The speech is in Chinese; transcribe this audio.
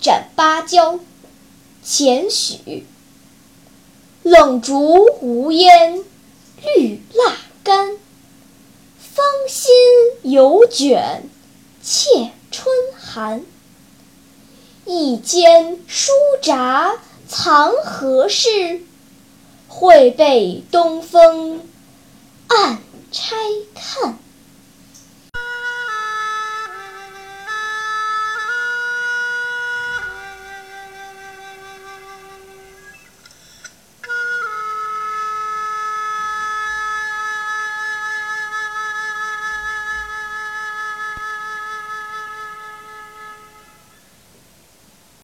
斩芭蕉，钱许。冷竹无烟，绿蜡干。芳心犹卷，怯春寒。一间书札藏何事？会被东风暗拆看。